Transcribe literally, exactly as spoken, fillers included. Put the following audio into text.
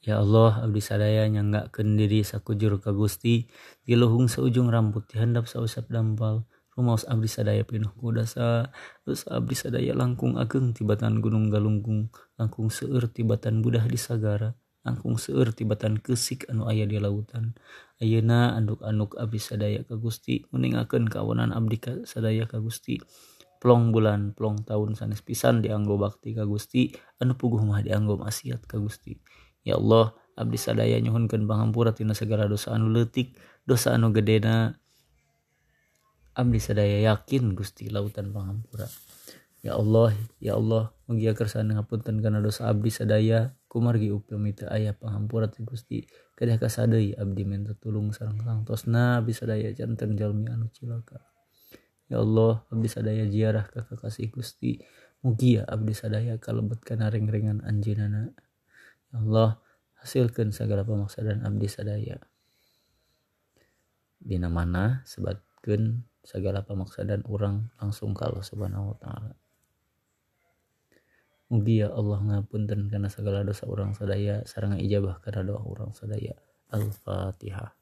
Ya Allah, abdi sadaya nyanggakeun diri sakujur ka Gusti, diluhung seujung rambut dihandap sausap dampal. Rumaos abdi sadaya pinuh ku dosa, dosa abdi sadaya langkung ageng tibatan gunung galunggung, langkung seueur tibatan budah di sagara, langkung seueur tibatan keusik anu aya di lautan. Ayeuna anduk-anduk abdi sadaya ka Gusti, nguningakeun kaawunan abdi sadaya ka Gusti. Plong bulan, plong tahun sanes pisan dianggo bakti ka Gusti, anu puguh mah dianggo maksiat ka Gusti. Ya Allah, abdi sadaya nyuhunkeun pangampura tina segala dosa anu leutik, dosa anu gedena. Abdi sadaya yakin Gusti lautan pangampura. Ya Allah, ya Allah, mugia kersana ngapunten kana dosa abdi sadaya, kumargi upami teu aya pangampura ti Gusti. Kedah kasadeui abdi minta tulung sareng sangtosna abdi sadaya janten jalmi anu cilaka. Ya Allah, abdi sadaya ziarah ka kakasih Gusti, mugia abdi sadaya kalebet kana reng-rengan anjeunana. Ya Allah, hasilkeun sagala pamaksadan abdi sadaya. Dina mana sebatkeun sagala pamaksadan urang langsung ka Allah Subhanahu wa taala. Mugi ya Allah ngapunten kana sagala dosa urang sadaya sareng ijabah kana doa urang sadaya. Al-Fatihah.